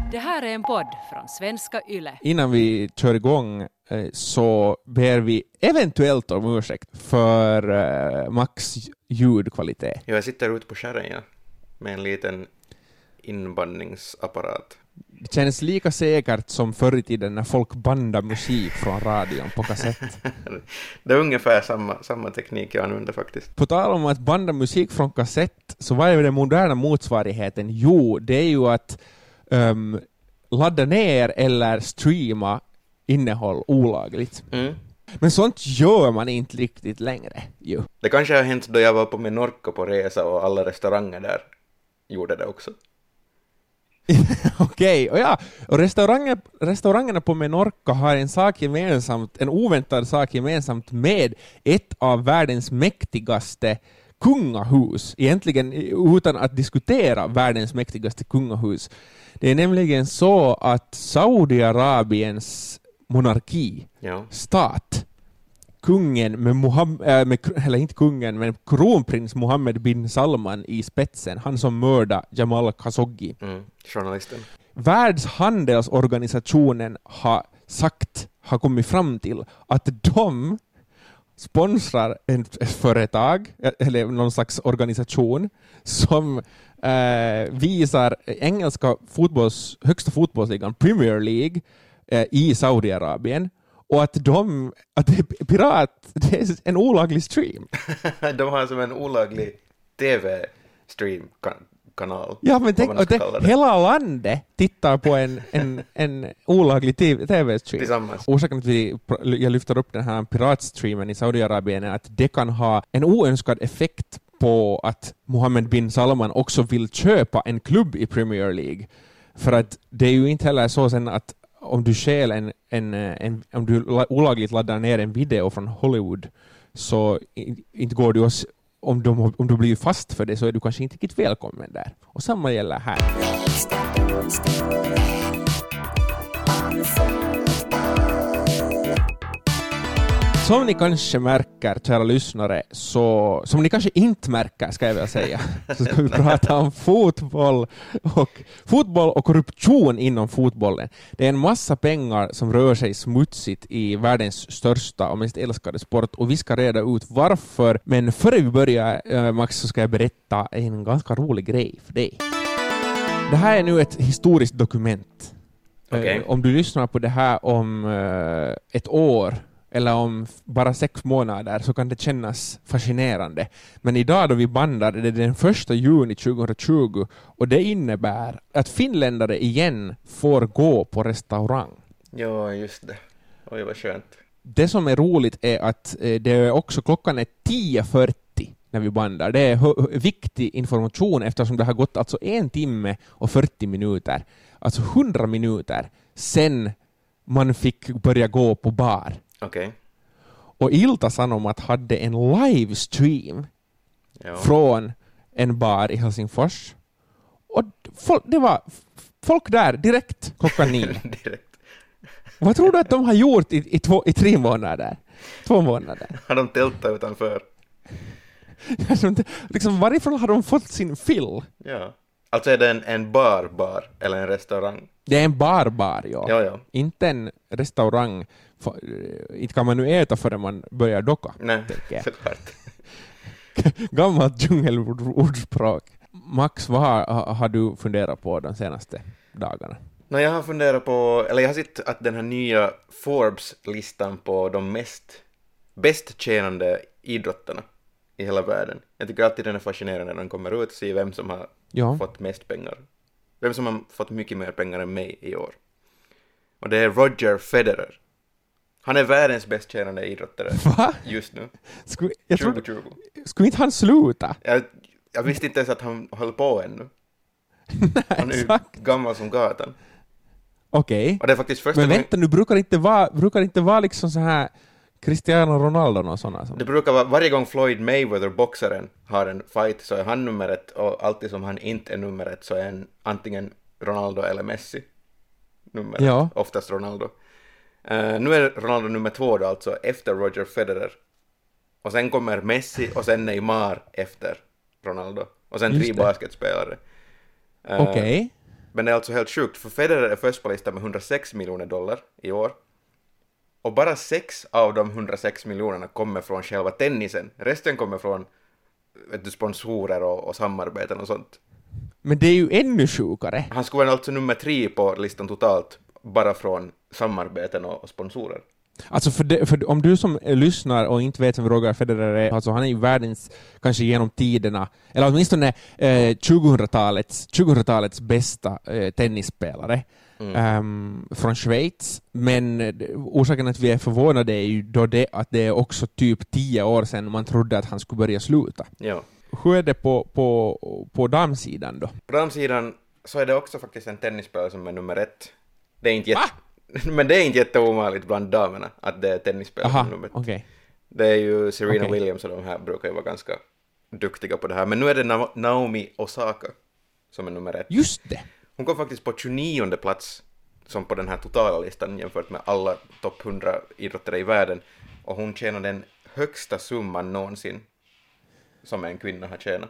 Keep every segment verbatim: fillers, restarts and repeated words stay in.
Det här är en podd från Svenska Yle. Innan vi kör igång eh, så ber vi eventuellt om ursäkt för eh, Max ljudkvalitet. Jag sitter ute på skärren ja, med en liten inbandningsapparat. Det känns lika säkert som förr i tiden när folk bandade musik från radion på kassett. Det är ungefär samma, samma teknik jag använder faktiskt. På tal om att banda musik från kassett, så vad är den moderna motsvarigheten? Jo, det är ju att um, ladda ner eller streama innehåll olagligt. Mm. Men sånt gör man inte riktigt längre. Jo. Det kanske har hänt då jag var på Menorca på resa och alla restauranger där gjorde det också. Okej, och ja, och restauranger, restaurangerna på Menorca har en sak gemensamt, en oväntad sak gemensamt med ett av världens mäktigaste kungahus, egentligen utan att diskutera världens mäktigaste kungahus. Det är nämligen så att Saudiarabiens monarki, Ja. stat, kungen med, Mohammed, äh, med eller inte kungen, men kronprins Mohammed bin Salman i spetsen, han som mördade Jamal Khashoggi. Mm, journalisten. Världshandelsorganisationen har sagt, har kommit fram till att de sponsrar ett företag eller någon slags organisation som eh, visar engelska fotbolls, högsta fotbollsligan Premier League eh, i Saudiarabien, och att de att det är pirat, det är en olaglig stream. De har som en olaglig tv-stream-kanal. Ja, men tänk, och det, hela landet tittar på en, en, en olaglig tv-stream. Tillsammans. Orsaken till att vi, jag lyfter upp den här piratstreamen i Saudiarabien är att det kan ha en oönskad effekt på att Mohammed bin Salman också vill köpa en klubb i Premier League. För att det är ju inte heller så sen att om du skäl en, en, en om du olagligt laddar ner en video från Hollywood, så inte går du oss, om du, om du blir fast för det, så är du kanske inte riktigt välkommen där. Och samma gäller här. Som ni kanske märker, kära lyssnare, så, som ni kanske inte märker, ska jag väl säga, så ska vi prata om fotboll och, fotboll och korruption inom fotbollen. Det är en massa pengar som rör sig smutsigt i världens största och mest älskade sport, och vi ska reda ut varför. Men före vi börjar, Max, så ska jag berätta en ganska rolig grej för dig. Det här är nu ett historiskt dokument. Okay. Om du lyssnar på det här om ett år eller om bara sex månader, så kan det kännas fascinerande. Men idag då vi bandar, det är den första juni tjugohundratjugo, och det innebär att finländare igen får gå på restaurang. Ja, just det. Oj, vad skönt. Det som är roligt är att det är också klockan är tio fyrtio när vi bandar. Det är h- viktig information eftersom det har gått alltså en timme och fyrtio minuter, alltså hundra minuter sen man fick börja gå på bar. Okej. Okay. Och Ilta-Sanomat hade en livestream Ja. från en bar i Helsingfors. Och folk, det var folk där direkt klockan nio. Direkt. Vad tror du att de har gjort i, i, två, i tre månader? Två månader. Har de tältat utanför? Liksom, varifrån har de fått sin fill? Ja. Alltså är det en, en bar, bar eller en restaurang? Det är en bar-bar, ja. Ja, ja. Inte en restaurang. Inte kan man nu äta förrän man börjar docka. Nej, såklart. Gammalt djungelordspråk. Max, vad har, har du funderat på de senaste dagarna? No, jag har funderat på, eller jag har sett att den här nya Forbes-listan på de mest bäst tjänande idrottarna i hela världen. Jag tycker alltid den är fascinerande när den kommer ut och ser vem som har ja. fått mest pengar. Vem som har fått mycket mer pengar än mig i år. Och det är Roger Federer. Han är världens bäst tjänande idrottare. Va? Just nu. Skulle, jag tjugo trodde, tjugo. Skulle inte han sluta? Jag, jag visste inte ens att han höll på ännu. Nej, Han är ju exakt. gammal som gatan. Okej. Okay. Och det är faktiskt första Men gången... vänta, nu brukar inte vara, brukar inte vara liksom så här Cristiano Ronaldo och sådana. Som... Det brukar vara, varje gång Floyd Mayweather, boxaren, har en fight så är han numret, och alltid som han inte är numret så är en, antingen Ronaldo eller Messi numret, ja. Oftast Ronaldo. Uh, nu är Ronaldo nummer två då, alltså efter Roger Federer. Och sen kommer Messi och sen Neymar efter Ronaldo. Och sen tre basketspelare. Uh, Okej. Okay. Men det är alltså helt sjukt, för Federer är först på listan med hundrasex miljoner dollar i år. Och bara sex av de hundrasex miljonerna kommer från själva tennisen. Resten kommer från vet du, sponsorer och, och samarbeten och sånt. Men det är ju ännu sjukare. Han skulle vara alltså nummer tre på listan totalt, bara från samarbeten och, och sponsorer. Alltså för, det, för om du som lyssnar och inte vet vem Roger Federer är, alltså han är ju världens, kanske genom tiderna, eller åtminstone eh, tjugohundratalets, tjugohundratalets bästa eh, tennisspelare mm. um, från Schweiz. Men eh, orsaken att vi är förvånade är ju då det att det är också typ tio år sedan man trodde att han skulle börja sluta. Ja. Hur är det på, på, på damsidan då? På damsidan så är det också faktiskt en tennisspelare som är nummer ett. Det är inte jätte... Men det är inte jätteomanligt bland damerna att det är tennisspelare som nummer ett. Okay. Det är ju Serena okay. Williams och de här brukar ju vara ganska duktiga på det här. Men nu är det Na- Naomi Osaka som är nummer ett. Just det. Hon kom faktiskt på tjugonionde plats som på den här totala listan jämfört med alla topp hundra idrottare i världen. Och hon tjänar den högsta summan någonsin som en kvinna har tjänat.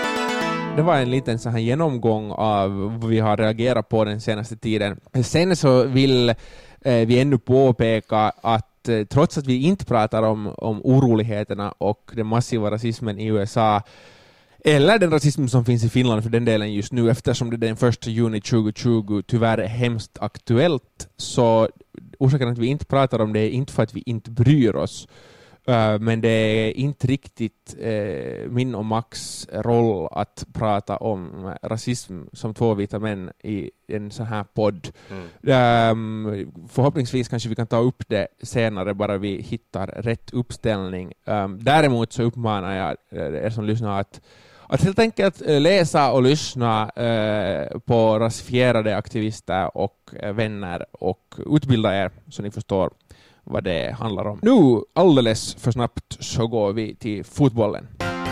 Det var en liten så här genomgång av vad vi har reagerat på den senaste tiden. Sen så vill eh, vi ännu påpeka att eh, trots att vi inte pratar om, om oroligheterna och den massiva rasismen i U S A eller den rasism som finns i Finland för den delen just nu, eftersom det den första juni tjugohundratjugo tyvärr är hemskt aktuellt, så orsaken att vi inte pratar om det är inte för att vi inte bryr oss. Uh, men det är inte riktigt uh, min och Max roll att prata om rasism som två vita män i en sån här podd. Mm. Um, förhoppningsvis kanske vi kan ta upp det senare, bara vi hittar rätt uppställning. Um, däremot så uppmanar jag er som lyssnar att, att helt enkelt läsa och lyssna uh, på rasifierade aktivister och uh, vänner och utbilda er så ni förstår vad det handlar om. Nu, alldeles för snabbt, så går vi till fotbollen.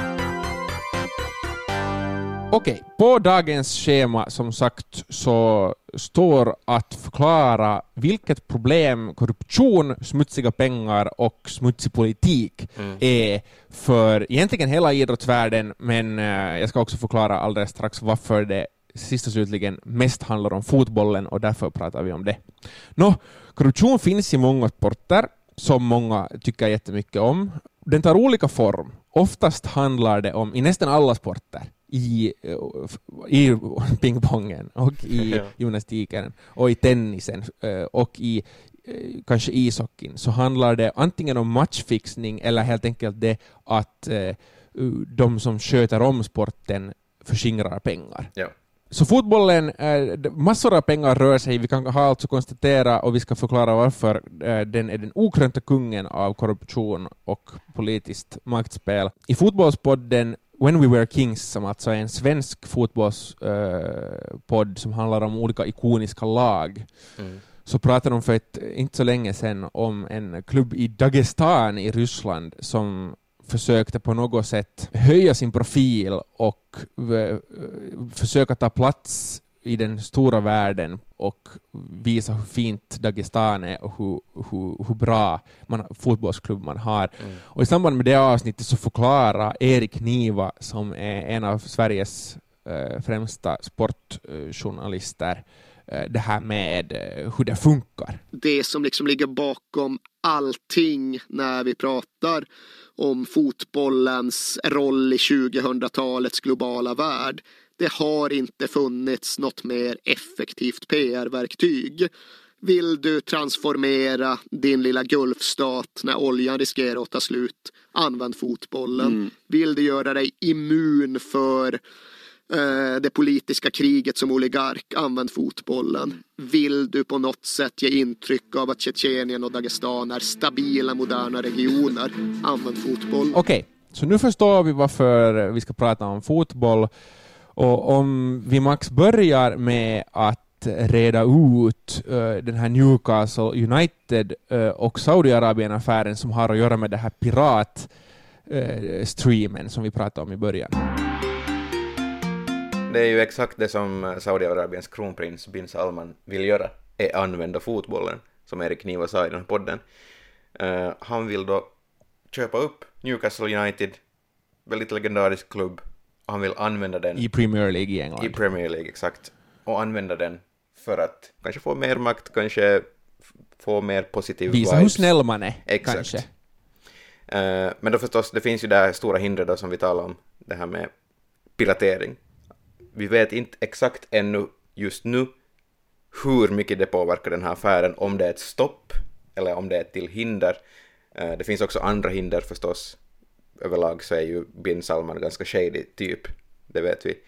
Okej, på dagens schema som sagt så står att förklara vilket problem korruption, smutsiga pengar och smutsig politik mm. är för egentligen hela idrottsvärlden, men eh, jag ska också förklara alldeles strax varför det sist och slutligen mest handlar om fotbollen och därför pratar vi om det. Nå, korruption finns i många sporter som många tycker jättemycket om. Den tar olika form. Oftast handlar det om, i nästan alla sporter, i, i pingpongen och i gymnastiken och i tennisen och i kanske ishockeyn, så handlar det antingen om matchfixning eller helt enkelt det att de som sköter om sporten förskingrar pengar. Ja. Så fotbollen, eh, massor av pengar rör sig. Vi kan ha alltså konstatera och vi ska förklara varför eh, den är den okrönta kungen av korruption och politiskt maktspel. I fotbollspodden When We Were Kings, som alltså är en svensk fotbollspodd eh, som handlar om olika ikoniska lag, mm. så pratade de för ett, inte så länge sedan om en klubb i Dagestan i Ryssland som försökte på något sätt höja sin profil och v- försöka ta plats i den stora världen och visa hur fint Dagestan är och hur, hur, hur bra man, fotbollsklubb man har. Mm. Och i samband med det avsnittet så förklarar Erik Niva, som är en av Sveriges eh, främsta sportjournalister, eh, det här med eh, hur det funkar. Det som liksom ligger bakom allting när vi pratar om fotbollens roll i tjugohundratalets globala värld. Det har inte funnits något mer effektivt P R-verktyg. Vill du transformera din lilla gulfstat när oljan riskerar att ta slut, använd fotbollen. Mm. Vill du göra dig immun för det politiska kriget som oligark, använd fotbollen. Vill du på något sätt ge intryck av att Tjetjenien och Dagestan är stabila, moderna regioner, använd fotboll. Okej, okay, så nu förstår vi varför vi ska prata om fotboll. Och om vi Max börjar med att reda ut uh, den här Newcastle United uh, och Saudiarabien-affären som har att göra med det här piratstreamen uh, som vi pratade om i början. Det är ju exakt det som Saudiarabiens kronprins bin Salman vill göra, är använda fotbollen, som Erik Niva sa i den här podden. Uh, han vill då köpa upp Newcastle United, väldigt legendarisk klubb, och han vill använda den i Premier League i England. I Premier League, exakt. och använda den för att kanske få mer makt, kanske få mer positiv visa vibes. hur snäll man är. Exakt. Kanske. Uh, men då förstås, det finns ju det här stora hindret då som vi talar om, det här med piratering. Vi vet inte exakt ännu, just nu, hur mycket det påverkar den här affären, om det är ett stopp eller om det är ett till hinder. Uh, det finns också andra hinder förstås. Överlag så är ju bin Salman ganska shady typ, det vet vi.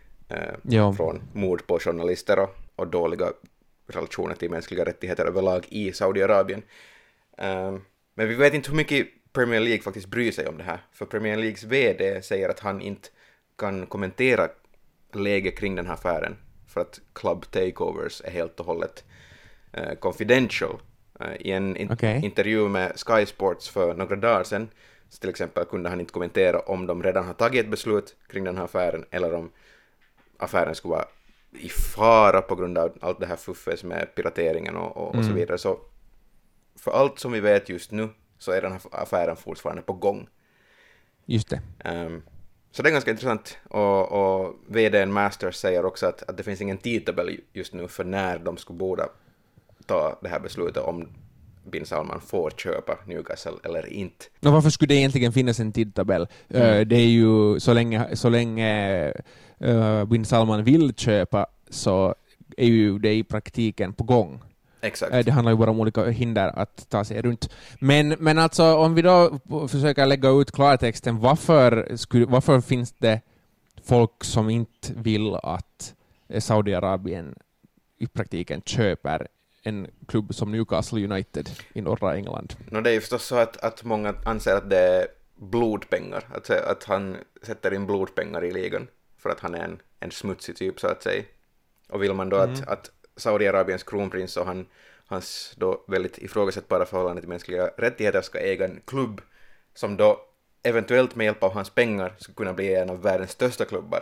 Uh, från mord på journalister och, och dåliga relationer till mänskliga rättigheter överlag i Saudiarabien. Uh, men vi vet inte hur mycket Premier League faktiskt bryr sig om det här. För Premier Leagues vd säger att han inte kan kommentera läget kring den här affären. För att club takeovers är helt och hållet uh, confidential. Uh, I en in- okay. intervju med Sky Sports för några dagar sedan, så till exempel kunde han inte kommentera om de redan har tagit ett beslut kring den här affären eller om affären skulle vara i fara på grund av allt det här fuffes med pirateringen och, och, och mm. så vidare. Så för allt som vi vet just nu så är den här affären fortfarande på gång. Just det. Um, så det är ganska intressant. Och, och vdn Masters säger också att, att det finns ingen tidtabell just nu för när de skulle borde ta det här beslutet om bin Salman får köpa Newcastle eller inte. Och varför skulle det egentligen finnas en tidtabell? Mm. Uh, det är ju så länge, så länge uh, bin Salman vill köpa så är ju det i praktiken på gång. Exakt. Det handlar ju bara om olika hinder att ta sig runt. Men, men alltså om vi då försöker lägga ut klartexten, varför, skulle, varför finns det folk som inte vill att Saudiarabien i praktiken köper en klubb som Newcastle United i norra England? No, det är ju förstås så att, att många anser att det är blodpengar, att, att han sätter in blodpengar i ligan för att han är en, en smutsig typ så att säga. Och vill man då mm. att, att Saudiarabiens kronprins och han, hans då väldigt ifrågasättbara förhållande till mänskliga rättigheter ska äga en klubb som då eventuellt med hjälp av hans pengar skulle kunna bli en av världens största klubbar.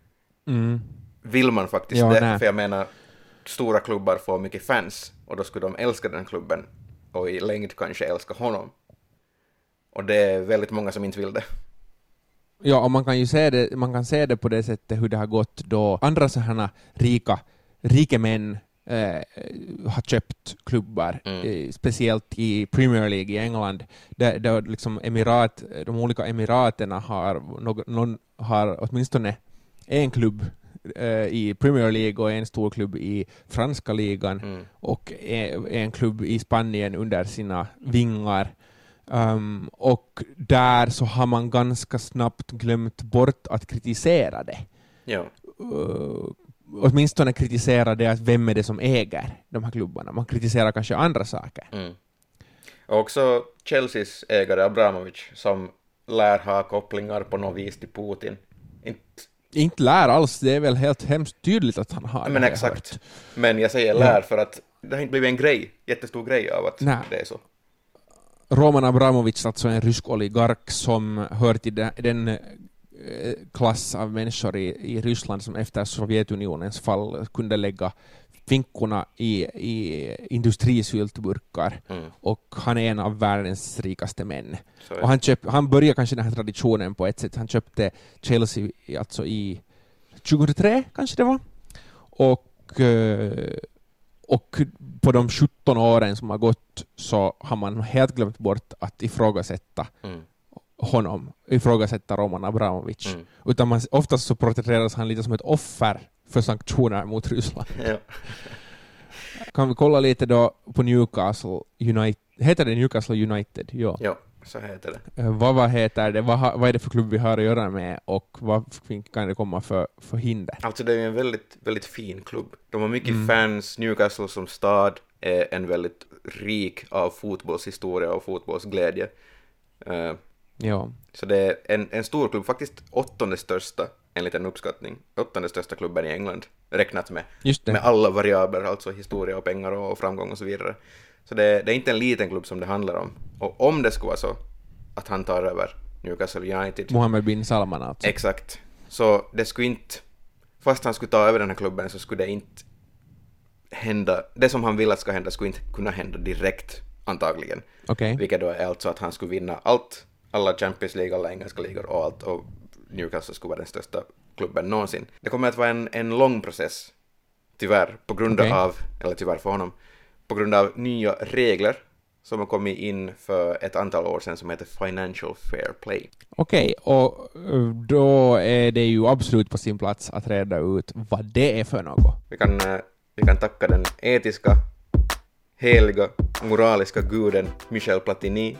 Mm. Vill man faktiskt ja, det? Nej. För jag menar, stora klubbar får mycket fans och då skulle de älska den klubben och i längd kanske älska honom. Och det är väldigt många som inte vill det. Ja, och man kan ju se det, man kan se det på det sättet hur det har gått då andra sådana rika rika män eh, har köpt klubbar, mm. eh, speciellt i Premier League i England, där, där liksom emirat, de olika emiraterna har, någon, någon har åtminstone en klubb eh, i Premier League och en stor klubb i franska ligan mm. och en, en klubb i Spanien under sina vingar. Um, och där så har man ganska snabbt glömt bort att kritisera det. Ja. Uh, åtminstone kritisera det att vem är det som äger de här klubbarna. Man kritiserar kanske andra saker. Mm. Och också Chelseas ägare Abramovich som lär ha kopplingar på något vis till Putin. Inte, inte lär alls, det är väl helt hemskt tydligt att han har. Men exakt. Hört. Men jag säger lär ja. för att det har inte blivit en grej, jättestor grej av att Nej. det är så. Roman Abramovich, alltså en rysk oligark som hör till den, den klass av människor i, i Ryssland som efter Sovjetunionens fall kunde lägga finkorna i, i industrisyltburkar mm. och han är en av världens rikaste män. Sorry. Och han, köp, han började kanske den här traditionen på ett sätt. Han köpte Chelsea alltså i tjugohundratre kanske det var. Och Och på de sjutton åren som har gått så har man helt glömt bort att ifrågasätta mm. honom, ifrågasätta Roman Abramovich. Mm. Utan man, oftast så porträtteras han lite som ett offer för sanktioner mot Ryssland. Ja. Kan vi kolla lite då på Newcastle United? Heter det Newcastle United? Ja, ja så heter det. Vad, vad heter det? Vad, vad är det för klubb vi har att göra med och vad kan det komma för, för hinder? Alltså det är en väldigt, väldigt fin klubb. De har mycket mm. fans. Newcastle som stad är en väldigt rik av fotbollshistoria och fotbollsglädje. Uh, ja. Så det är en, en stor klubb, faktiskt åttonde största enligt en uppskattning. Åttonde största klubben i England, räknat med, med alla variabler, alltså historia och pengar och framgång och så vidare. Så det, det är inte en liten klubb som det handlar om. Och om det skulle vara så att han tar över Newcastle United. Mohammed bin Salman alltså. Exakt. Så det skulle inte, fast han skulle ta över den här klubben så skulle det inte hända, det som han vill att ska hända skulle inte kunna hända direkt antagligen. Okay. Vilket då är alltså att han skulle vinna allt, alla Champions League, alla engelska ligor och allt, och Newcastle skulle vara den största klubben någonsin. Det kommer att vara en, en lång process tyvärr, på grund okay. av, eller tyvärr för honom, på grund av nya regler som har kommit in för ett antal år sedan som heter Financial Fair Play. Okej, okay, och då är det ju absolut på sin plats att reda ut vad det är för något. Vi kan, vi kan tacka den etiska, heliga, moraliska guden Michel Platini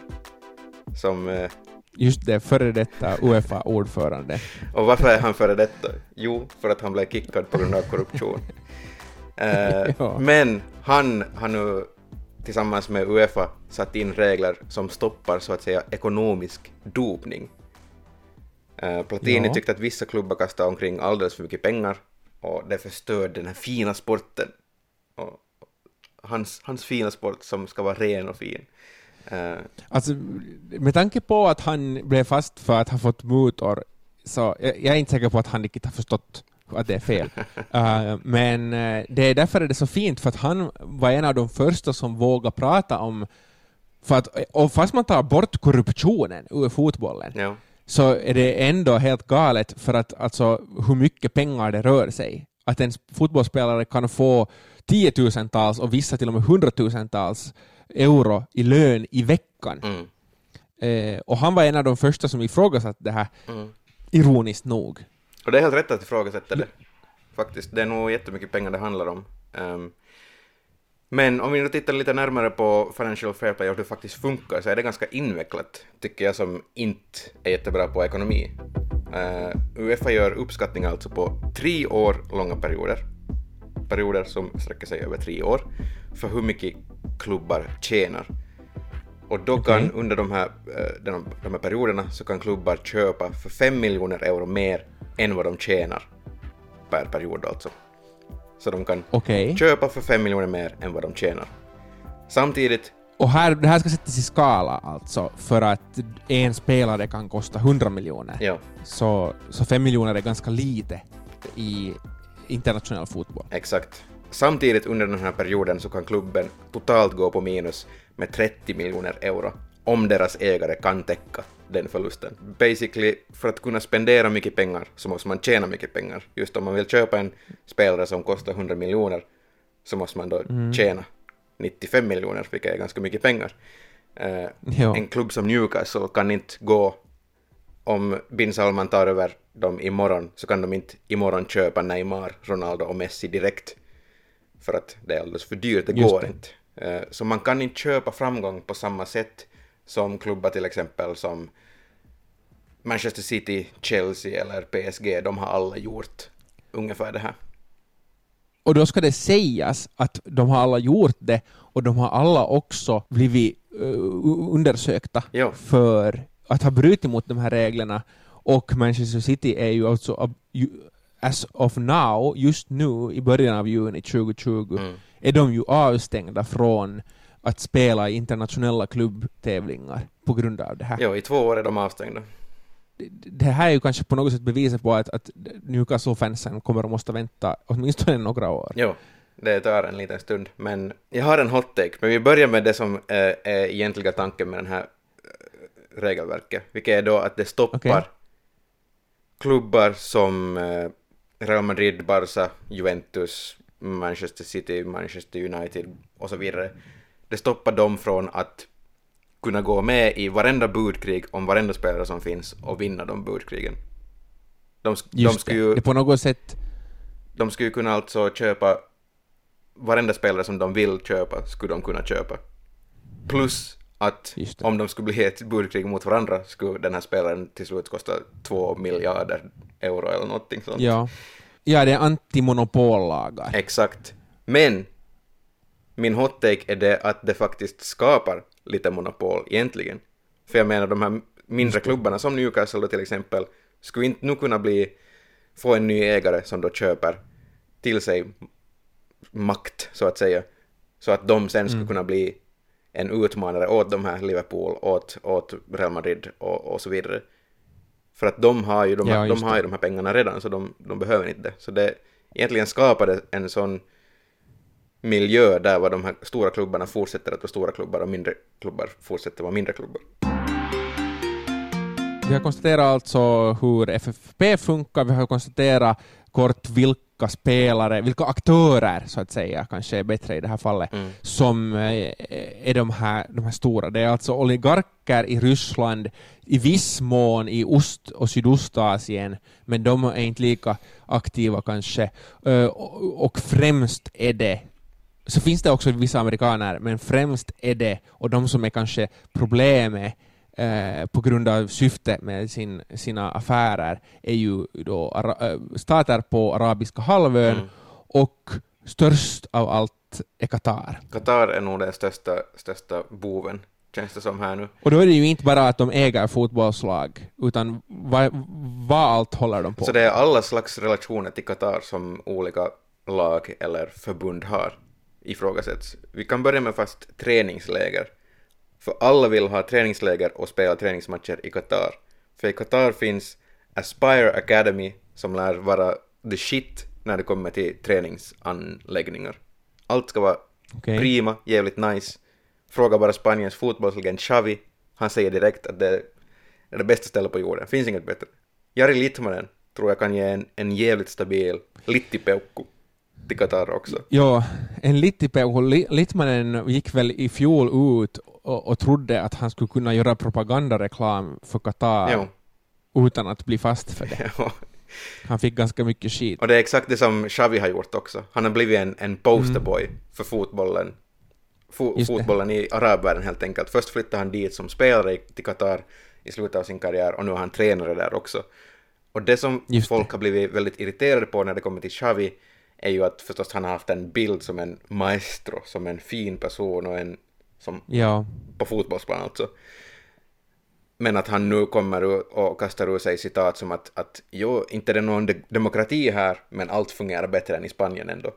som... Just det, före detta U E F A-ordförande. Och varför är han före detta? Jo, för att han blev kickad på grund av korruption. uh, ja. Men han har nu tillsammans med UEFA satt in regler som stoppar så att säga ekonomisk dopning. Uh, Platini ja. tyckte att vissa klubbar kastar omkring alldeles för mycket pengar och det förstör den här fina sporten. Och hans, hans fina sport som ska vara ren och fin. Uh, alltså, med tanke på att han blev fast för att ha fått mutor, så jag, jag är inte säker på att han riktigt har förstått att det är fel. uh, men uh, det är därför är det så fint, för att han var en av de första som vågade prata om, för att, och fast man tar bort korruptionen ur fotbollen, ja. så är det ändå helt galet för att alltså hur mycket pengar det rör sig. Att en fotbollsspelare kan få tiotusentals och vissa till och med hundratusentals euro i lön i veckan. Mm. Eh, och han var en av de första som ifrågasatte det här, mm. ironiskt nog. Och det är helt rätt att ifrågasätta det. Faktiskt, det är nog jättemycket pengar det handlar om. Um, men om vi nu tittar lite närmare på Financial Fair Play och hur det faktiskt funkar, så är det ganska invecklat, tycker jag, som inte är jättebra på ekonomi. Uh, UEFA gör uppskattning alltså på tre år långa perioder. Perioder som sträcker sig över tre år. För hur mycket klubbar tjänar. Och då kan okay. under de här, de, de här perioderna så kan klubbar köpa för fem miljoner euro mer än vad de tjänar per period alltså. Så de kan okay. köpa för fem miljoner mer än vad de tjänar. Samtidigt... Och här, det här ska sättas i skala alltså, för att en spelare kan kosta hundra miljoner. Ja. Så, så fem miljoner är ganska lite i internationell fotboll. Exakt. Samtidigt under den här perioden så kan klubben totalt gå på minus med trettio miljoner euro om deras ägare kan täcka den förlusten. Basically, för att kunna spendera mycket pengar så måste man tjäna mycket pengar. Just om man vill köpa en spelare som kostar hundra miljoner så måste man då mm. tjäna nittiofem miljoner, vilket är ganska mycket pengar. Uh, en klubb som Newcastle kan inte gå, om Bin Salman tar över dem imorgon, så kan de inte imorgon köpa Neymar, Ronaldo och Messi direkt. För att det är alldeles för dyrt, det Just går det. inte. Uh, så man kan inte köpa framgång på samma sätt som klubbar till exempel som Manchester City, Chelsea eller P S G. De har alla gjort ungefär det här. Och då ska det sägas att de har alla gjort det, och de har alla också blivit uh, undersökta jo. för att ha brutit mot de här reglerna. Och Manchester City är ju alltså as of now, just nu i början av juni tjugo tjugo, mm. är de ju avstängda från att spela i internationella klubbtävlingar på grund av det här. Jo, i två år är de avstängda. Det, det här är ju kanske på något sätt beviset på att, att Newcastle-fansen kommer att måste vänta åtminstone några år. Jo, det tar en liten stund. Men jag har en hot take. Men vi börjar med det som äh, är egentliga tanken med den här äh, regelverket. Vilket är då att det stoppar okay. klubbar som äh, Real Madrid, Barca, Juventus, Manchester City, Manchester United och så vidare. Det stoppar dem från att kunna gå med i varenda budkrig om varenda spelare som finns och vinna de budkrigen. De, de skulle ju, det på något sätt de skulle kunna alltså köpa varenda spelare som de vill köpa, skulle de kunna köpa. Plus att om de skulle bli ett budkrig mot varandra skulle den här spelaren till slut kosta två miljarder euro eller någonting sånt. Ja, ja, det är antimonopollagar. Exakt. Men min hot take är det att det faktiskt skapar lite monopol egentligen. För jag menar, de här mindre klubbarna som Newcastle då till exempel skulle inte nu kunna bli få en ny ägare som då köper till sig makt så att säga, så att de sen skulle mm. kunna bli en utmanare åt de här Liverpool, åt, åt Real Madrid och, och så vidare. För att de har ju de, ja, de, har ju de här pengarna redan, så de, de behöver inte det. Så det egentligen skapade en sån miljö där var de här stora klubbarna fortsätter att vara stora klubbar och mindre klubbar fortsätter att vara mindre klubbar. Vi har konstaterat alltså hur F F P funkar, vi har konstaterat kort vilka vilka spelare, vilka aktörer så att säga, kanske är bättre i det här fallet, Mm. som eh, är de här, de här stora. Det är alltså oligarker i Ryssland, i viss mån i Ost- och Sydostasien, men de är inte lika aktiva kanske. Eh, och, och främst är det, så finns det också vissa amerikaner, men främst är det, och de som är kanske problemet eh, på grund av syfte med sin, sina affärer, är ju då ara- stater på arabiska halvön, Mm. och störst av allt är Qatar. Qatar är nog den största, största boven, känns det som här nu. Och då är det ju inte bara att de äger fotbollslag, utan vad, vad allt håller de på. Så det är alla slags relationer till Qatar som olika lag eller förbund har ifrågasätts. Vi kan börja med fast träningsläger. För alla vill ha träningsläger och spela träningsmatcher i Qatar. För i Qatar finns Aspire Academy som lär vara the shit när det kommer till träningsanläggningar. Allt ska vara Okej. prima, jävligt nice. Fråga bara Spaniens fotbollslegend Xavi. Han säger direkt att det är det bästa stället på jorden. Finns inget bättre. Jari Litmanen tror jag kan ge en, en jävligt stabil littipeukku till Qatar också. Ja, en Littipeuhu, Litmanen gick väl i fjol ut och, och trodde att han skulle kunna göra propagandareklam för Qatar Jo. utan att bli fast för det. Ja. Han fick ganska mycket skit. Och det är exakt det som Xavi har gjort också. Han har blivit en, en posterboy mm. för fotbollen. Fo- fotbollen i arabvärlden helt enkelt. Först flyttade han dit som spelare till Qatar i slutet av sin karriär, och nu är han tränare där också. Och det som Just folk det. har blivit väldigt irriterade på när det kommer till Xavi är ju att förstås han har haft en bild som en maestro, som en fin person och en som Ja. på fotbollsplan alltså. Men att han nu kommer och kastar ur sig citat som att, att jo, inte det är någon de- demokrati här, men allt fungerar bättre än i Spanien ändå.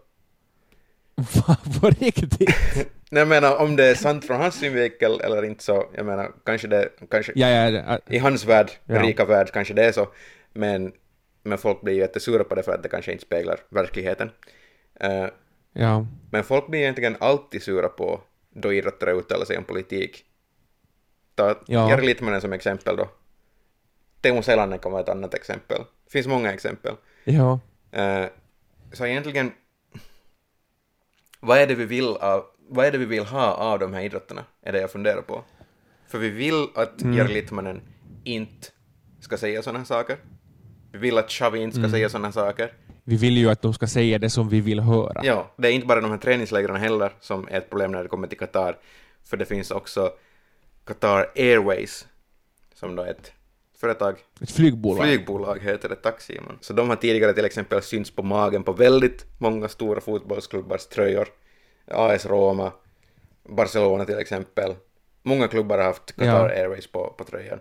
Va, på riktigt? Nej, jag menar, om det är sant från hans synvinkel eller inte, så jag menar, kanske det, kanske Ja, ja, ja. i hans värld, Ja. den rika värld, kanske det är så, men, men folk blir ju jättesura på det för att det kanske inte speglar verkligheten. Uh, ja. men folk blir egentligen alltid sura på då idrottare uttalar sig om politik. Ta Ja. Jari Litmanen som exempel då. Teemu Selanne kan vara ett annat exempel. Det finns många exempel. Ja. Uh, så egentligen, vad är det vi vill av, vad är det vi vill ha av de här idrotterna, är det jag funderar på. För vi vill att Mm. Jari Litmanen inte ska säga sådana saker. Vi vill att Xavi inte ska Mm. säga sådana saker. Vi vill ju att de ska säga det som vi vill höra. Ja, det är inte bara de här träningslägren heller som är ett problem när det kommer till Qatar. För det finns också Qatar Airways, som då är ett företag. Ett flygbolag. Flygbolag heter det, tack Simon. Så de har tidigare till exempel synts på magen på väldigt många stora fotbollsklubbars tröjor. A S Roma, Barcelona till exempel. Många klubbar har haft Qatar Ja. Airways på, på tröjan.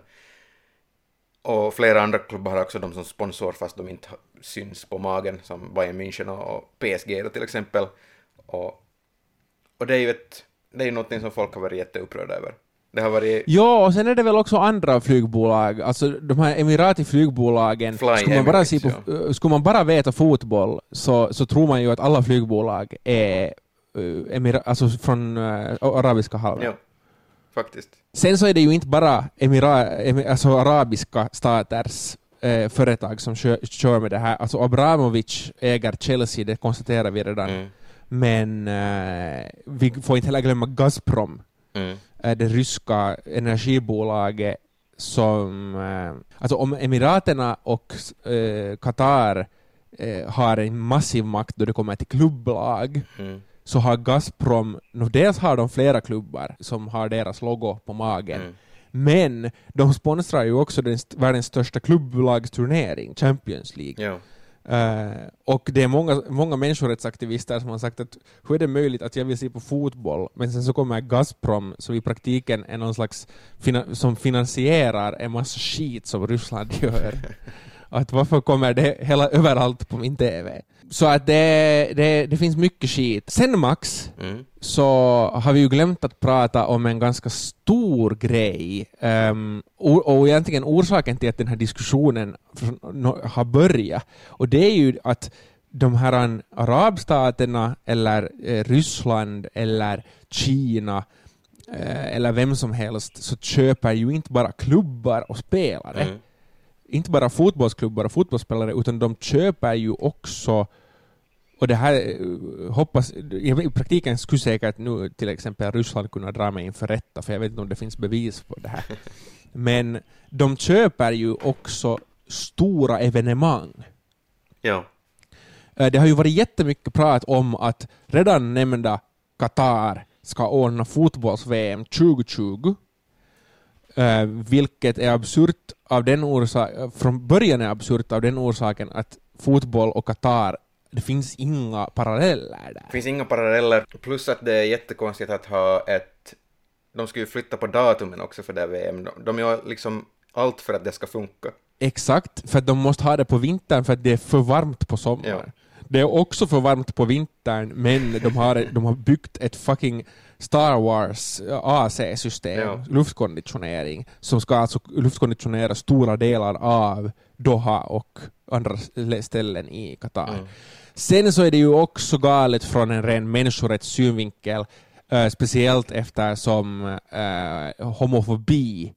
Och flera andra klubbar har också de som sponsor fast de inte syns på magen, som Bayern München och, och P S G då till exempel. Och, och det är ju ett, det är ju något som folk har varit jätteupprörda över. Det har varit Ja, och sen är det väl också andra flygbolag, alltså de här Emirati-flygbolagen, Fly skulle man, bara Emirates, se på, uh, skulle man bara veta fotboll, så, så tror man ju att alla flygbolag är uh, emira- alltså från uh, arabiska halvön. ja, faktiskt. Sen så är det ju inte bara emira- emi- alltså arabiska staters eh, företag som kör, kör med det här. Alltså Abramovic äger Chelsea, det konstaterar vi redan. Mm. Men eh, vi får inte heller glömma Gazprom, Mm. eh, det ryska energibolaget som... Eh, alltså om Emiraterna och eh, Qatar eh, har en massiv makt då det kommer till klubblag, Mm. så har Gazprom, no, dels har de flera klubbar som har deras logo på magen, Mm. men de sponsrar ju också den st- världens största klubblagsturnering, Champions League. Ja. Uh, och det är många, många människorättsaktivister som har sagt att hur är det möjligt att jag vill se på fotboll, men sen så kommer Gazprom, som i praktiken är någon slags fina- som finansierar en massa skit som Ryssland gör. Att varför kommer det hela överallt på min T V? Så att det, det, det finns mycket skit. Sen Max, Mm. så har vi ju glömt att prata om en ganska stor grej. Um, och, och egentligen orsaken till att den här diskussionen har börjat. Och det är ju att de här arabstaterna eller eh, Ryssland eller Kina eh, eller vem som helst, så köper ju inte bara klubbar och spelare. Mm. Inte bara fotbollsklubbar och fotbollsspelare, utan de köper ju också och det här uh, hoppas, i praktiken skulle säkert nu till exempel Ryssland kunna dra mig inför rätta, för jag vet inte om det finns bevis på det här. Men de köper ju också stora evenemang. Ja. Det har ju varit jättemycket prat om att redan nämnda Qatar ska ordna fotbolls-V M tjugo tjugo. Uh, vilket är absurt av den orsaken, från början är absurt av den orsaken att fotboll och Qatar, det finns inga paralleller där. Det finns inga paralleller, plus att det är jättekonstigt att ha ett, de ska ju flytta på datumen också för det V M. De gör liksom allt för att det ska funka. Exakt, för att de måste ha det på vintern för att det är för varmt på sommaren. Ja. Det är också för varmt på vintern, men de har, de har byggt ett fucking Star Wars A C-system, ja. luftkonditionering, som ska alltså luftkonditionera stora delar av Doha och andra ställen i Qatar. Mm. Sen så är det ju också galet från en ren människorättssynvinkel, uh, speciellt eftersom uh, homofobi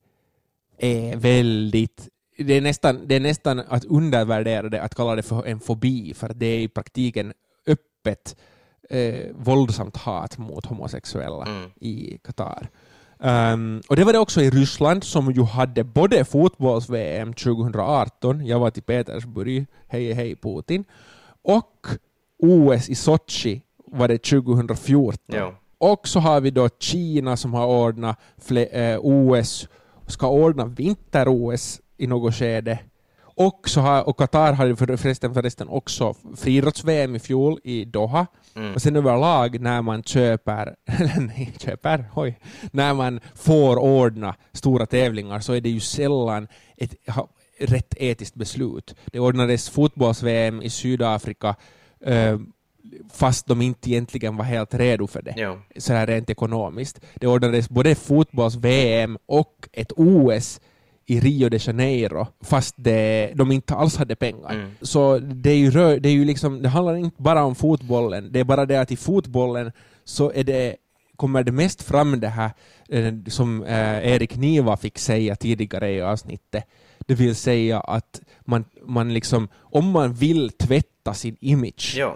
är väldigt, det är nästan, det är nästan att undervärdera det att kalla det för en fobi, för det är i praktiken öppet eh, våldsamt hat mot homosexuella mm. i Qatar. Um, och det var det också i Ryssland, som ju hade både fotbolls-V M tjugo arton, jag var till Petersburg, hej hej Putin, och O S i Sochi var det tjugo fjorton. Ja. Och så har vi då Kina som har ordnat fle- eh, O S, ska ordna vinter-O S i något skede. Och, så har, och Qatar hade för, förresten, förresten också friidrotts-V M i fjol i Doha. Mm. Och sen överlag när man köper, nej, köper, oj, när man får ordna stora tävlingar så är det ju sällan ett ha, rätt etiskt beslut. Det ordnades fotbolls-V M i Sydafrika eh, fast de inte egentligen var helt redo för det. Ja. Så här rent ekonomiskt. Det ordnades både fotbolls-V M och ett O S i Rio de Janeiro, fast det, de inte alls hade pengar. Mm. Så det är ju, det är ju liksom, det handlar inte bara om fotbollen, det är bara det att i fotbollen så är det, kommer det mest fram det här eh, som eh, Erik Niva fick säga tidigare i avsnittet. Det vill säga att man, man liksom, om man vill tvätta sin image, ja.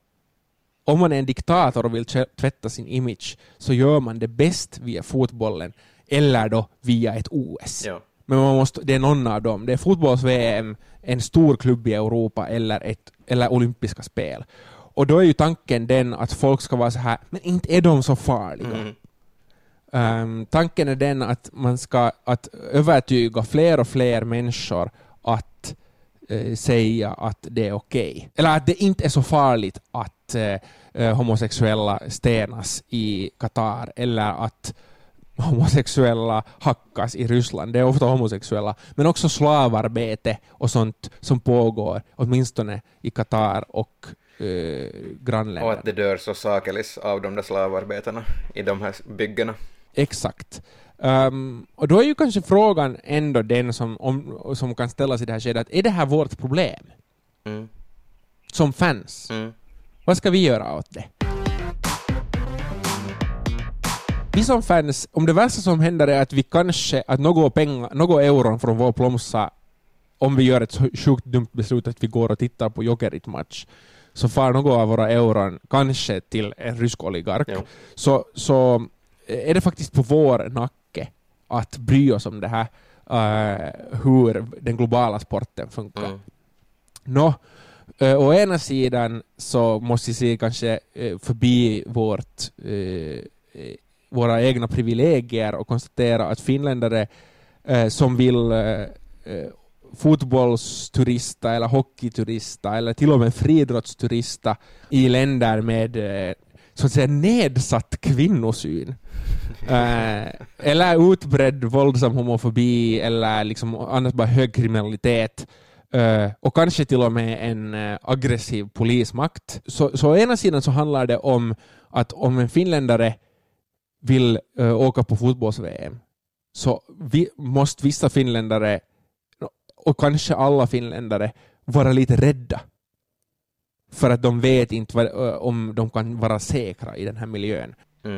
Om man är en diktator och vill tvätta sin image, så gör man det bäst via fotbollen eller då via ett O S. Ja. Men man måste, det är någon av dem. Det är fotbolls-V M, en stor klubb i Europa eller, ett, eller olympiska spel. Och då är ju tanken den att folk ska vara så här, men inte är de så farliga. Mm. Um, tanken är den att man ska att övertyga fler och fler människor att uh, säga att det är okej. Okay. Eller att det inte är så farligt att uh, homosexuella stenas i Qatar, eller att homosexuella hackas i Ryssland. Det är ofta homosexuella, men också slavarbete och sånt som pågår åtminstone i Qatar och eh, grannländer. Och att det dör så sakelis av de där slavarbetarna i de här byggena. Exakt. Um, och då är ju kanske frågan ändå den som, om, som kan ställas i det här skedet, är det här vårt problem? Mm. Som fans? Mm. Vad ska vi göra åt det? Vi som fans, om det värsta som händer är att vi kanske, att något pengar, något euron från vår plomsa, om vi gör ett så sjukt dumt beslut att vi går och tittar på Jokerit-match, så far något av våra euron kanske till en rysk oligark. Ja. Så, så är det faktiskt på vår nacke att bry oss om det här, uh, hur den globala sporten funkar. Mm. Nå, uh, å ena sidan så måste vi se kanske uh, förbi vårt uh, våra egna privilegier och konstatera att finländare eh, som vill eh, fotbollsturista eller hockeyturista eller till och med friidrottsturista i länder med eh, så att säga nedsatt kvinnosyn eh, eller utbredd våldsam homofobi eller liksom annars bara hög kriminalitet Uh, och kanske till och med en uh, aggressiv polismakt. Så, så å ena sidan så handlar det om att om en finländare vill uh, åka på fotbolls-V M, så vi, måste vissa finländare och kanske alla finländare vara lite rädda för att de vet inte vad, uh, om de kan vara säkra i den här miljön. Mm.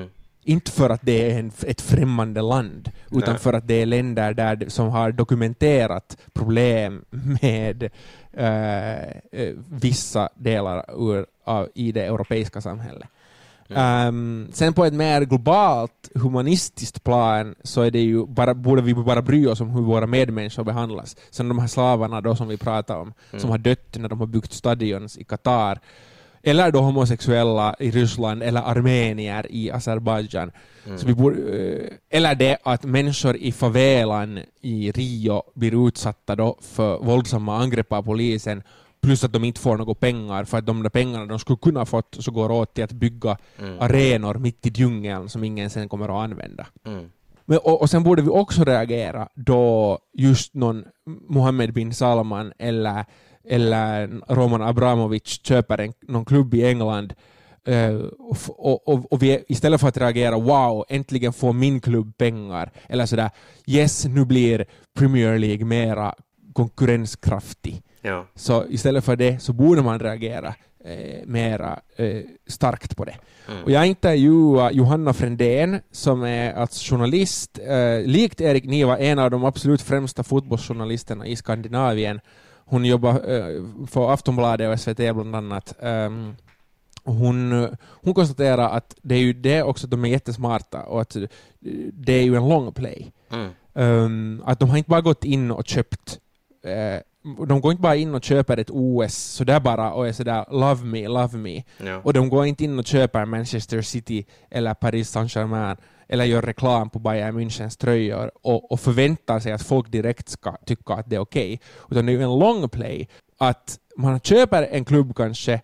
Inte för att det är en, ett främmande land, utan Nej. för att det är länder där som har dokumenterat problem med uh, vissa delar ur, av, i det europeiska samhället. Mm. Um, sen på ett mer globalt humanistiskt plan så är det ju bara, borde vi bara bry oss om hur våra medmänniskor behandlas. Sen de här slavarna då som vi pratar om, mm. som har dött när de har byggt stadions i Qatar, eller då homosexuella i Ryssland eller armenier i Azerbaijan. Mm. Så vi borde, eller det att människor i favelan i Rio blir utsatta då för våldsamma angrepp av polisen, plus att de inte får några pengar, för att de där pengarna de skulle kunna fått så går åt till att bygga mm. arenor mitt i djungeln som ingen sen kommer att använda. Mm. Men, och, och sen borde vi också reagera då just någon Mohammed bin Salman eller, eller Roman Abramovich köper en, någon klubb i England uh, och, och, och vi istället för att reagera wow, äntligen får min klubb pengar, eller sådär yes, nu blir Premier League mera konkurrenskraftig. Ja. Så istället för det så borde man reagera eh, mera eh, starkt på det. Mm. Och jag intervjuade Johanna Frändén som är alltså journalist. Eh, likt Erik Niva, en av de absolut främsta fotbollsjournalisterna i Skandinavien. Hon jobbar eh, för Aftonbladet och S V T bland annat. Um, hon, hon konstaterar att det är ju det också att de är jättesmarta och att det är ju en long play. Mm. Um, att de har inte bara gått in och köpt eh, de går inte bara in och köper ett O S så där bara och är sådär love me, love me. Ja. Och de går inte in och köper Manchester City eller Paris Saint-Germain eller gör reklam på Bayern Münchens tröjor och, och förväntar sig att folk direkt ska tycka att det är okej. Okay. Utan det är ju en long play att man köper en klubb kanske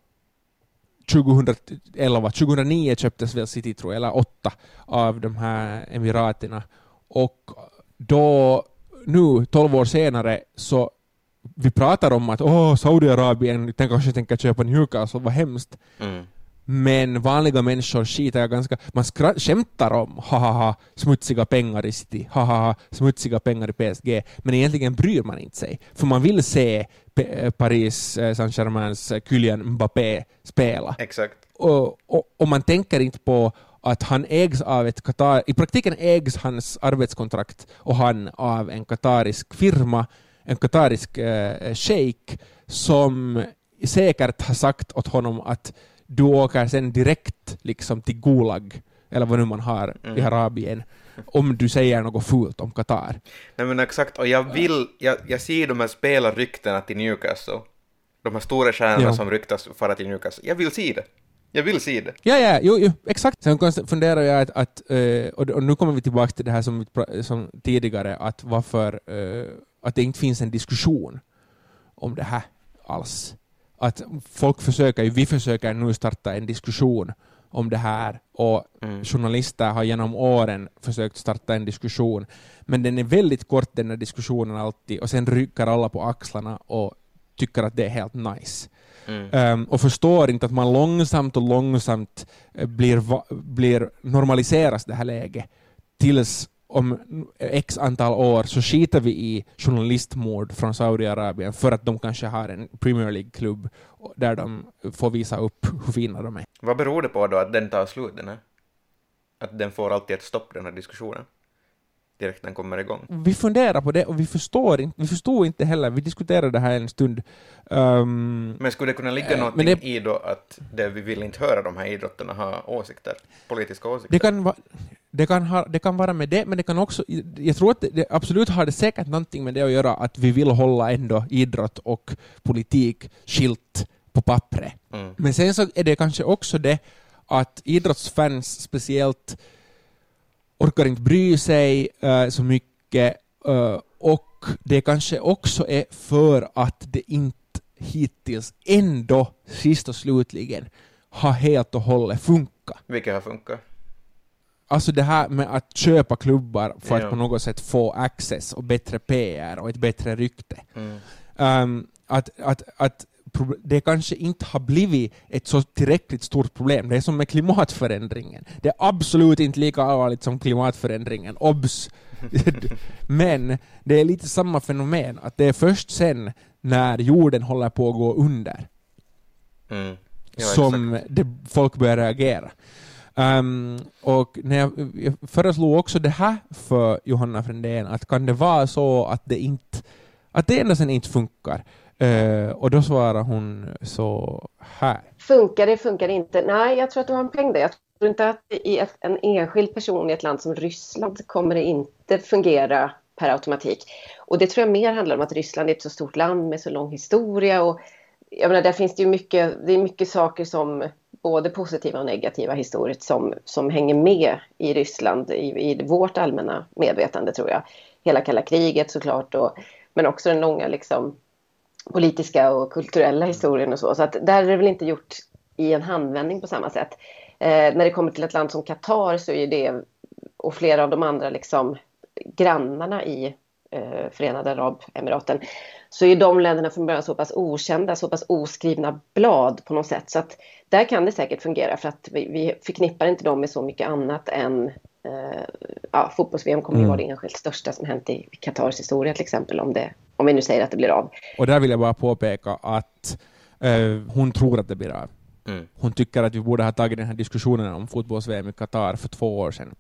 tjugoelva, tjugohundranio köptes väl City tror jag, eller åtta av de här emiraterna. Och då nu, tolv år senare, så vi pratar om att åh, Saudiarabien den kanske tänker köpa Newcastle, vad hemskt. Mm. Men vanliga människor skiter jag ganska... Man skra- skämtar om hahaha, smutsiga pengar i City, hahaha, smutsiga pengar i P S G. Men egentligen bryr man inte sig. För man vill se P- Paris Saint-Germains Kylian Mbappé spela. Exakt. Och, och, och man tänker inte på att han ägs av ett Qatar... I praktiken ägs hans arbetskontrakt och han av en qatarisk firma, en qatarisk eh, sheik som säkert har sagt åt honom att du åker sen direkt liksom till Gulag eller vad nu man har mm. i Arabien om du säger något fult om Qatar. Nej men exakt, och jag vill jag, jag ser de här spelarryktena till Newcastle, de här stora stjärnorna ja. som ryktas fara till Newcastle. Jag vill se det. Jag vill se det. Ja, ja, jo, jo, exakt. Sen funderar jag att, att och, och nu kommer vi tillbaka till det här som, som tidigare, att varför att det inte finns en diskussion om det här alls. Att folk försöker, vi försöker nu starta en diskussion om det här och mm. journalister har genom åren försökt starta en diskussion, men den är väldigt kort den här diskussionen alltid och sen rycker alla på axlarna och tycker att det är helt nice. Mm. Um, och förstår inte att man långsamt och långsamt blir, blir normaliseras det här läget tills om x antal år så skiter vi i journalistmord från Saudiarabien för att de kanske har en Premier League-klubb där de får visa upp hur fina de är. Vad beror det på då att den tar slut, den här? Att den får alltid ett stopp, den här diskussionen? Direkt den kommer igång. Vi funderar på det och vi förstår inte, vi förstår inte heller. Vi diskuterade det här en stund. Um, men skulle det kunna ligga äh, någonting det, i då att det, vi vill inte höra de här idrotterna ha åsikter, politiska åsikter? Det kan vara Det kan, ha, det kan vara med det, men det kan också, jag tror att det, det absolut har det säkert någonting med det att göra att vi vill hålla ändå idrott och politik skilt på pappret. Mm. Men sen så är det kanske också det att idrottsfans speciellt orkar inte bry sig uh, så mycket uh, och det kanske också är för att det inte hittills ändå sist och slutligen har helt och hållet funkat. Vilka har funkat? Alltså det här med att köpa klubbar för ja. att på något sätt få access och bättre P R och ett bättre rykte. Mm. Um, att, att, att det kanske inte har blivit ett så tillräckligt stort problem. Det är som med klimatförändringen. Det är absolut inte lika allvarligt som klimatförändringen. Obs! Men det är lite samma fenomen. Att det är först sen när jorden håller på att gå under mm. ja, som det, folk börjar reagera. Um, och när jag, jag föreslog också det här för Johanna Frändén, att kan det vara så att det inte att det enda sen inte funkar? Uh, och då svarar hon så här. Funkar det, funkar det inte? Nej, jag tror att du har en poäng där. Jag tror inte att i ett, en enskild person i ett land som Ryssland kommer det inte fungera per automatik. Och det tror jag mer handlar om att Ryssland är ett så stort land med så lång historia. Och jag menar, där finns det ju mycket, det är mycket saker som både positiva och negativa historiskt som, som hänger med i Ryssland, i, i vårt allmänna medvetande tror jag. Hela kalla kriget såklart, och, men också den långa liksom, politiska och kulturella historien och så. Så att där är det väl inte gjort i en handvändning på samma sätt. Eh, när det kommer till ett land som Qatar så är det, och flera av de andra liksom, grannarna i eh, Förenade Arabemiraten, så är de länderna från början så pass okända, så pass oskrivna blad på något sätt. Så att där kan det säkert fungera, för att vi, vi förknippar inte dem med så mycket annat än eh, ja, fotbolls-V M kommer mm. ju vara det enskilt största som hänt i Qatars historia till exempel, om, det, om vi nu säger att det blir av. Och där vill jag bara påpeka att eh, hon tror att det blir av. Mm. Hon tycker att vi borde ha tagit den här diskussionen om fotbolls-V M i Qatar för två år sedan.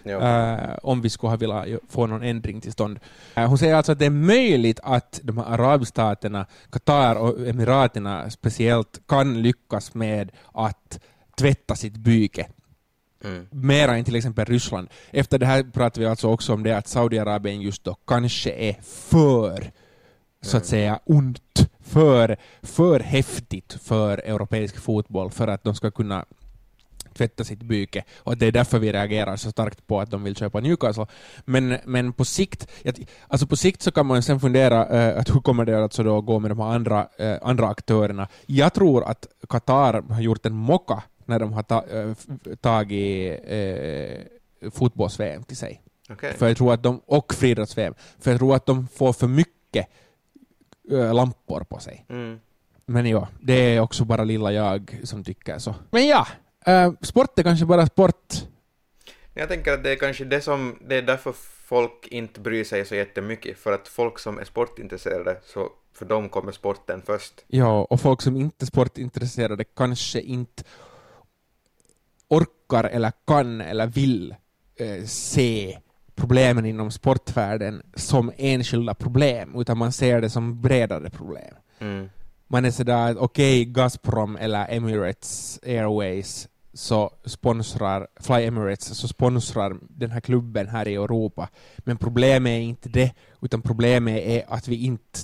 Uh, om vi skulle ha velat få någon ändring till stånd. Uh, hon säger alltså att det är möjligt att de här arabstaterna, Qatar och Emiraterna speciellt, kan lyckas med att tvätta sitt byke. Mm. Mera än till exempel Ryssland. Efter det här pratar vi alltså också om det att Saudiarabien just då kanske är för, så att säga, ont, för, för häftigt för europeisk fotboll för att de ska kunna tvätta sitt byke, och det är därför vi reagerar så starkt på att de vill köpa Newcastle. Men, men på sikt alltså på sikt så kan man sen fundera uh, att hur kommer det alltså då gå med de här andra, uh, andra aktörerna. Jag tror att Qatar har gjort en mocka när de har ta, uh, tagit uh, fotbolls-V M till sig. Okay. För jag tror att de, och friidrotts-V M. För jag tror att de får för mycket uh, lampor på sig. Mm. Men ja, det är också bara lilla jag som tycker så. Men ja, Uh, sport är kanske bara sport. Jag tänker att det är kanske det som det är därför folk inte bryr sig så jättemycket, för att folk som är sportintresserade, så för dem kommer sporten först. Ja, och folk som inte är sportintresserade kanske inte orkar eller kan eller vill uh, se problemen inom sportvärlden som enskilda problem, utan man ser det som bredare problem. Mm. Man är sådär att okej, okay, Gazprom eller Emirates Airways så sponsrar, Fly Emirates så sponsrar den här klubben här i Europa. Men problemet är inte det, utan problemet är att vi inte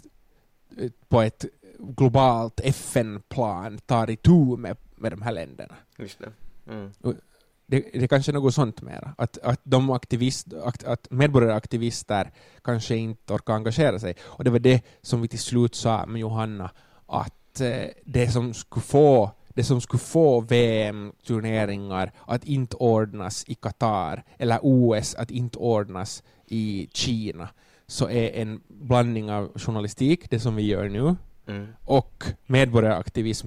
på ett globalt F N-plan tar itu med, med de här länderna. Just det. Mm. Det, det är kanske något sånt mera. Att, att, de aktivist, att, att medborgaraktivister kanske inte orkar engagera sig. Och det var det som vi till slut sa med Johanna, att eh, det som skulle få det som skulle få V M-turneringar att inte ordnas i Qatar eller O S att inte ordnas i Kina, så är en blandning av journalistik, det som vi gör nu, mm. och medborgaraktivism.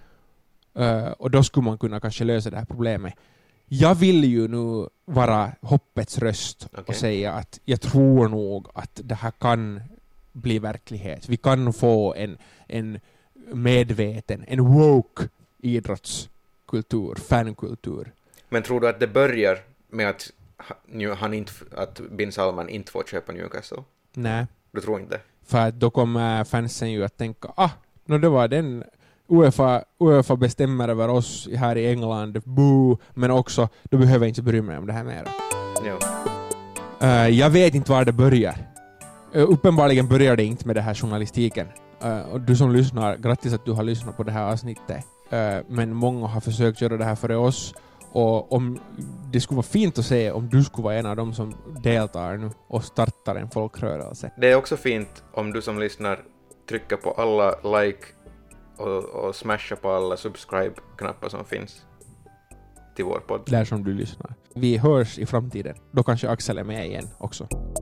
Uh, och då skulle man kunna kanske lösa det här problemet. Jag vill ju nu vara hoppets röst okay. och säga att jag tror nog att det här kan bli verklighet. Vi kan få en, en medveten, en woke idrottskultur, fankultur. Men tror du att det börjar med att han inte, att bin Salman inte får köpa Newcastle? Nej. Du tror inte? För att då kommer fansen ju att tänka, ah, no, det var den UEFA, UEFA bestämmer över oss här i England, boo, men också, då behöver jag inte bry mig om det här mer. Ja. Uh, jag vet inte var det börjar. Uh, uppenbarligen börjar det inte med det här journalistiken. Uh, och du som lyssnar, grattis att du har lyssnat på det här avsnittet. Uh, men många har försökt göra det här före oss. Och om det skulle vara fint att se om du skulle vara en av dem som deltar nu och startar en folkrörelse. Det är också fint om du som lyssnar trycker på alla like och, och smasha på alla subscribe-knappar som finns till vår podd. Där som du lyssnar. Vi hörs i framtiden. Då kanske Axel är med igen också.